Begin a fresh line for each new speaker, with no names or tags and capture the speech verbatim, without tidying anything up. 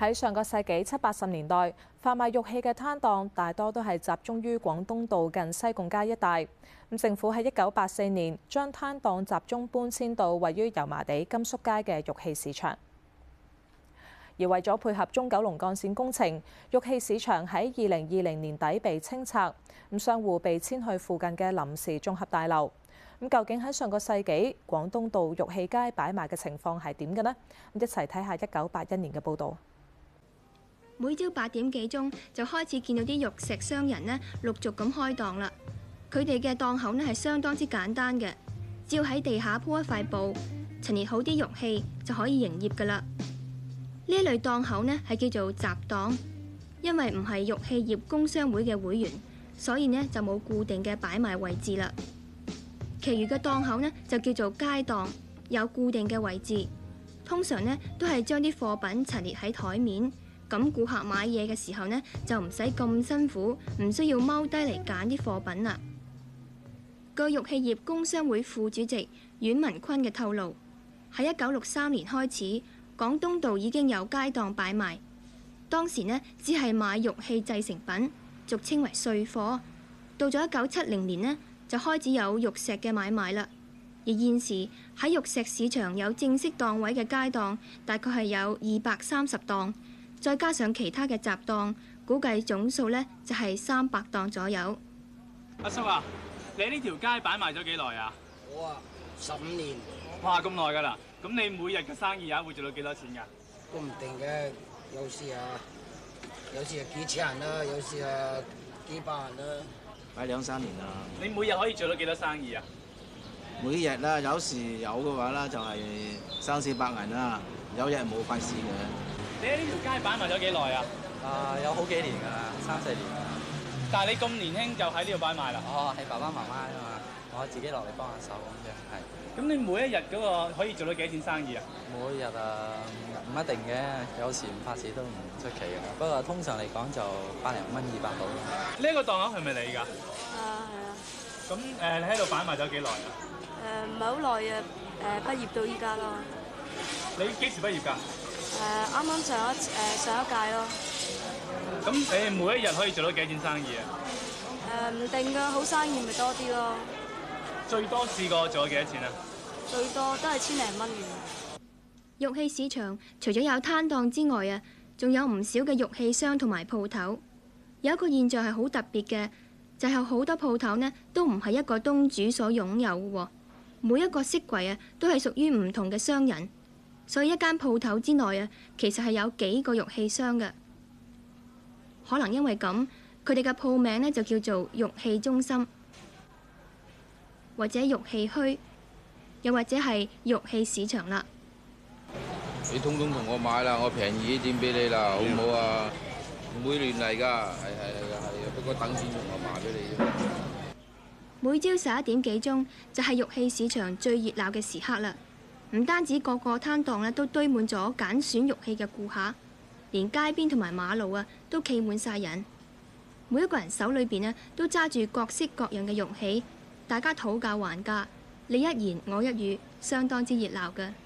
喺上個世紀七八十年代，販賣玉器嘅攤檔大多都係集中於廣東道近西貢街一帶。咁政府喺一九八四年將攤檔集中搬遷到位於油麻地甘肅街嘅玉器市場。而為咗配合中九龍幹線工程，玉器市場喺二零二零年底被清拆，咁商戶被遷去附近嘅臨時綜合大樓。咁究竟喺上個世紀廣東道玉器街擺賣嘅情況係點嘅呢？咁一齊睇下一九八一年嘅報導。
每朝八點幾鐘就開始見到啲玉石商人呢陸續咁開檔啦。佢哋嘅檔口呢係相當之簡單嘅，只要喺地下鋪一塊布，陳列好啲玉器就可以營業㗎啦。呢一類檔口呢係叫做雜檔，因為唔係玉器業工商會嘅會員，所以呢就冇固定嘅擺賣位置啦。其餘嘅檔口呢就叫做街檔，有固定嘅位置，通常呢都係將啲貨品陳列喺台面。咁顧客買嘢嘅時候呢，就唔使咁辛苦，唔需要踎低嚟揀啲貨品啦。據玉器業工商會副主席阮文坤嘅透露，喺一九六三年開始，廣東道已經有街檔擺賣。當時呢，只係買玉器製成品，俗稱為碎貨。到咗一九七零年呢，就開始有玉石嘅買賣啦。而現時喺玉石市場有正式檔位嘅街檔，大概係有二百三十檔。再加上其他嘅雜檔，估計總數呢就係三百檔左右。
阿叔啊，你喺呢條街擺賣咗幾耐啊？
我啊，十五年。
哇，咁耐㗎啦！咁你每日嘅生意啊，會做到幾多錢㗎？
都唔定嘅，有時啊，有時係幾千人啦，有時啊幾百人啦。
擺兩三年啦。
你每日可以做到幾多生意啊？
每日啦，有時有嘅話啦，就係三四百銀啦，有日冇費事嘅。
你喺呢條街擺賣咗幾耐啊？
啊，有好幾年㗎啦，三四年。
但係你咁年輕就喺呢度擺賣啦？
哦，係爸爸媽媽啊嘛，我自己落嚟幫下手咁樣，係。
咁你每一日嗰個可以做到幾多錢生意啊？
每日啊，唔一定嘅，有時唔拍市都唔出奇嘅。不過通常嚟講就百零蚊、二百到。
呢一個檔口係咪你㗎？
啊，係啊。
咁誒，你喺度擺賣咗幾耐啊？
誒，唔係好耐啊，誒，畢業到依家咯。
你幾時畢業㗎？
誒，啱啱上一誒上一屆咯。
咁你每一日可以做到幾多錢生意啊？
誒，唔定㗎，好生意咪多啲咯。
最多試過做咗幾多錢啊？
最多都係千零蚊嘅。
玉器市場除咗有攤檔之外啊，仲有唔少嘅玉器商同埋鋪頭。有一個現象係好特別嘅，就係有好多鋪頭呢都唔係一個東主所擁有嘅喎，每一個飾櫃啊都係屬於唔同嘅商人。所以一間鋪頭之內啊，其實係有幾個玉器商嘅。可能因為咁，佢哋嘅鋪名呢就叫做玉器中心，或者玉器墟，又或者係玉器市場啦。
你通通同我買啦，我平宜啲點俾你啦，好唔好啊？唔會亂嚟㗎，係係係係，不過等錢同我賣俾你啫。
每朝十一點幾鐘就係玉器市場最熱鬧嘅時刻啦。唔單止個個攤檔咧都堆滿咗揀選玉器嘅顧客，連街邊同埋馬路啊都企滿晒人。每一個人手裏邊咧都揸住各式各樣嘅玉器，大家討價還價，你一言我一語，相當之熱鬧㗎。